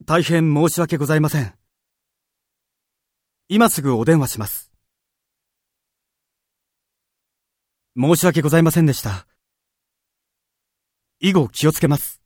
大変申し訳ございません。今すぐお電話します。申し訳ございませんでした。以後気をつけます。